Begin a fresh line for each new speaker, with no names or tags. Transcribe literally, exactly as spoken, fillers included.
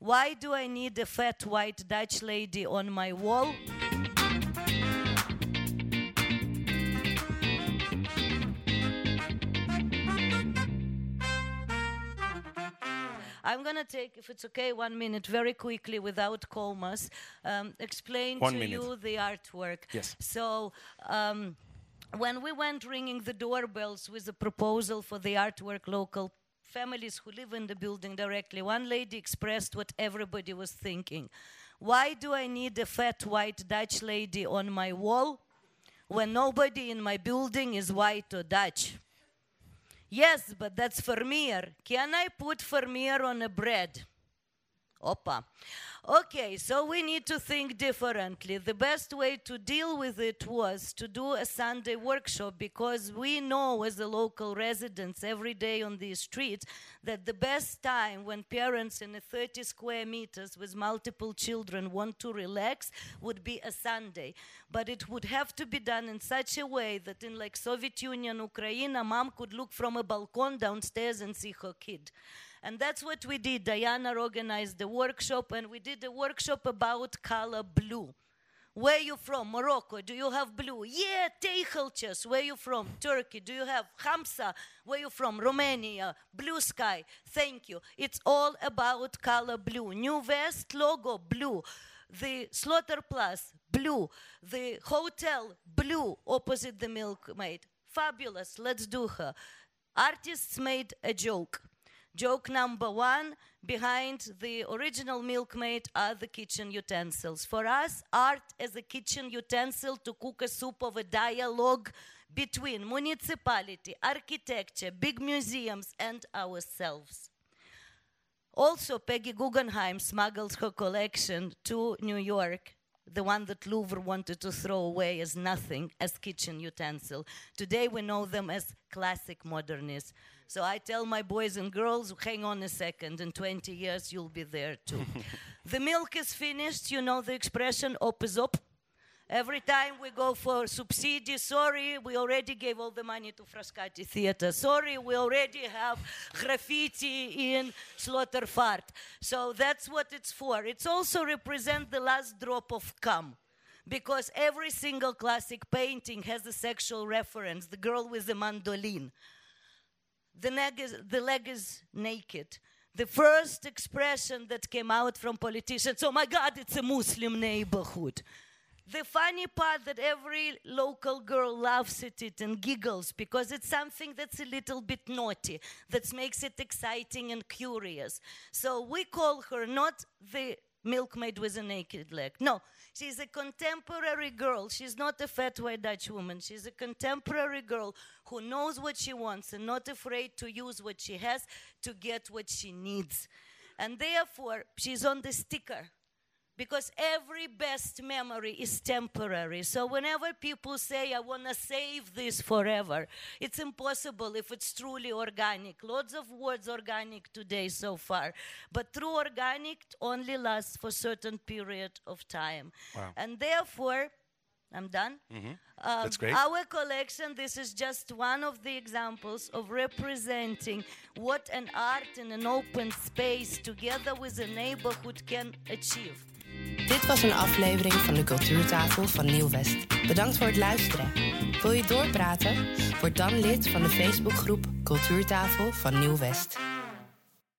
Why do I need a fat white Dutch lady on my wall? I'm going to take, if it's okay, one minute very quickly without comas, um, explain
one
to
minute.
you the artwork.
Yes.
So um, when we went ringing the doorbells with a proposal for the artwork, local families who live in the building directly, one lady expressed what everybody was thinking. Why do I need a fat white Dutch lady on my wall when nobody in my building is white or Dutch? Yes, but that's Vermeer. Can I put Vermeer on a bread? Opa. Okay, so we need to think differently. The best way to deal with it was to do a Sunday workshop, because we know as the local residents every day on these streets that the best time when parents in a thirty square meters with multiple children want to relax would be a Sunday. But it would have to be done in such a way that in like Soviet Union, Ukraine, a mom could look from a balcony downstairs and see her kid. And that's what we did. Diana organized the workshop, and we did a workshop about color blue. Where are you from? Morocco. Do you have blue? Yeah, Teichelches. Where are you from? Turkey. Do you have Hamsa? Where are you from? Romania. Blue sky. Thank you. It's all about color blue. New West logo, blue. The Slaughter Plus, blue. The hotel, blue, opposite the Milkmaid. Fabulous. Let's do her. Artists made a joke. Joke number one, behind the original Milkmaid are the kitchen utensils. For us, art as a kitchen utensil to cook a soup of a dialogue between municipality, architecture, big museums, and ourselves. Also, Peggy Guggenheim smuggled her collection to New York, the one that Louvre wanted to throw away as nothing, as kitchen utensil. Today we know them as classic modernists. So I tell my boys and girls, hang on a second, in twenty years you'll be there too. The milk is finished, you know the expression, op is op. Every time we go for subsidy, sorry, we already gave all the money to Frascati Theatre. Sorry, we already have graffiti in Slaughterfart. So that's what it's for. It's also represent the last drop of cum. Because every single classic painting has a sexual reference. The girl with the mandolin. The leg is, the leg is naked. The first expression that came out from politicians, oh my God, it's a Muslim neighborhood. The funny part that every local girl laughs at it and giggles because it's something that's a little bit naughty, that makes it exciting and curious. So we call her not the milkmaid with a naked leg. No, she's a contemporary girl. She's not a fat white Dutch woman. She's a contemporary girl who knows what she wants and not afraid to use what she has to get what she needs. And therefore, she's on the sticker. Because every best memory is temporary. So whenever people say, I want to save this forever, it's impossible if it's truly organic. Lots of words organic today so far. But true organic only lasts for a certain period of time.
Wow.
And therefore, I'm done.
Mm-hmm.
Uh,
That's great.
Our collection, this is just one of the examples of representing what an art in an open space together with a neighborhood can achieve.
Dit was een aflevering van de Cultuurtafel van Nieuw-West. Bedankt voor het luisteren. Wil je doorpraten? Word dan lid van de Facebookgroep Cultuurtafel van Nieuw-West.